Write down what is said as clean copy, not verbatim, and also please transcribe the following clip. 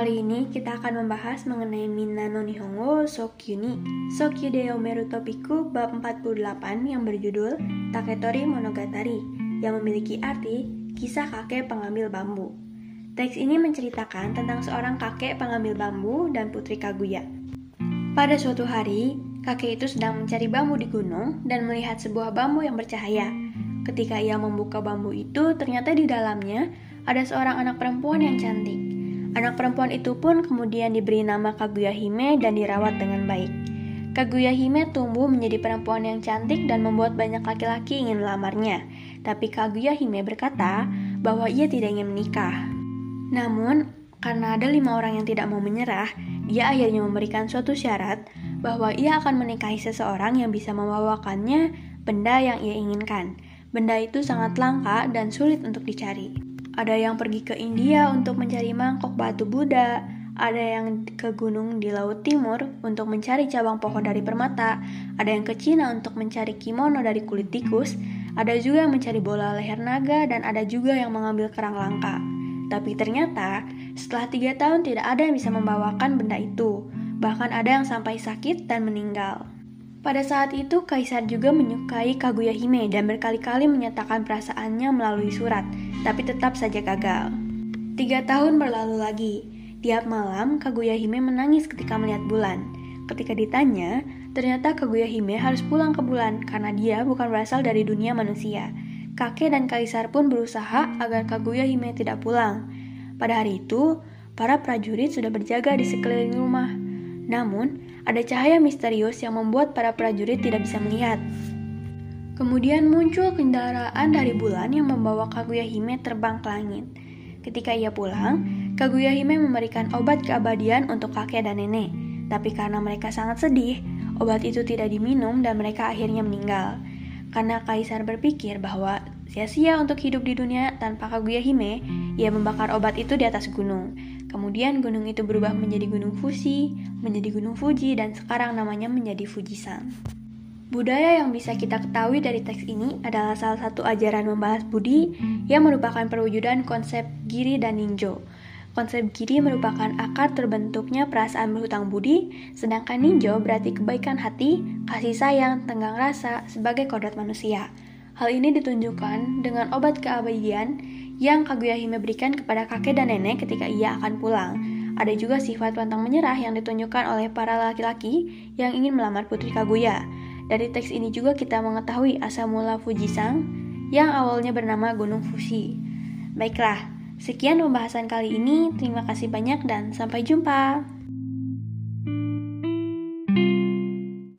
Kali ini kita akan membahas mengenai Minna no Nihongo Sokyu ni Sokyu de Yomeru Topiku bab 48 yang berjudul Taketori Monogatari yang memiliki arti kisah kakek pengambil bambu. Teks ini menceritakan tentang seorang kakek pengambil bambu dan putri Kaguya. Pada suatu hari, kakek itu sedang mencari bambu di gunung dan melihat sebuah bambu yang bercahaya. Ketika ia membuka bambu itu, ternyata di dalamnya ada seorang anak perempuan yang cantik. Anak perempuan itu pun kemudian diberi nama Kaguya Hime dan dirawat dengan baik. Kaguya Hime tumbuh menjadi perempuan yang cantik dan membuat banyak laki-laki ingin melamarnya. Tapi Kaguya Hime berkata bahwa ia tidak ingin menikah. Namun, karena ada 5 orang yang tidak mau menyerah, dia akhirnya memberikan suatu syarat bahwa ia akan menikahi seseorang yang bisa membawakannya benda yang ia inginkan. Benda itu sangat langka dan sulit untuk dicari. Ada yang pergi ke India untuk mencari mangkok batu Buddha, ada yang ke gunung di Laut Timur untuk mencari cabang pohon dari permata, ada yang ke Cina untuk mencari kimono dari kulit tikus, ada juga yang mencari bola leher naga, dan ada juga yang mengambil kerang langka. Tapi ternyata, setelah 3 tahun tidak ada yang bisa membawakan benda itu, bahkan ada yang sampai sakit dan meninggal. Pada saat itu, Kaisar juga menyukai Kaguya Hime dan berkali-kali menyatakan perasaannya melalui surat, tapi tetap saja gagal. 3 tahun berlalu lagi. Tiap malam, Kaguya Hime menangis ketika melihat bulan. Ketika ditanya, ternyata Kaguya Hime harus pulang ke bulan karena dia bukan berasal dari dunia manusia. Kakek dan Kaisar pun berusaha agar Kaguya Hime tidak pulang. Pada hari itu, para prajurit sudah berjaga di sekeliling rumah. Namun, ada cahaya misterius yang membuat para prajurit tidak bisa melihat. Kemudian muncul kendaraan dari bulan yang membawa Kaguya Hime terbang ke langit. Ketika ia pulang, Kaguya Hime memberikan obat keabadian untuk kakek dan nenek. Tapi karena mereka sangat sedih, obat itu tidak diminum dan mereka akhirnya meninggal. Karena Kaisar berpikir bahwa sia-sia untuk hidup di dunia tanpa Kaguya Hime, ia membakar obat itu di atas gunung. Kemudian gunung itu berubah menjadi Gunung Fuji, menjadi Gunung Fuji, dan sekarang namanya menjadi Fujisan. Budaya yang bisa kita ketahui dari teks ini adalah salah satu ajaran membahas budi yang merupakan perwujudan konsep giri dan ninjo. Konsep giri merupakan akar terbentuknya perasaan berhutang budi, sedangkan ninjo berarti kebaikan hati, kasih sayang, tenggang rasa sebagai kodrat manusia. Hal ini ditunjukkan dengan obat keabadian yang Kaguya Hime berikan kepada kakek dan nenek ketika ia akan pulang. Ada juga sifat pantang menyerah yang ditunjukkan oleh para laki-laki yang ingin melamar putri Kaguya. Dari teks ini juga kita mengetahui asal mula Fujisan yang awalnya bernama Gunung Fuji. Baiklah, sekian pembahasan kali ini. Terima kasih banyak dan sampai jumpa.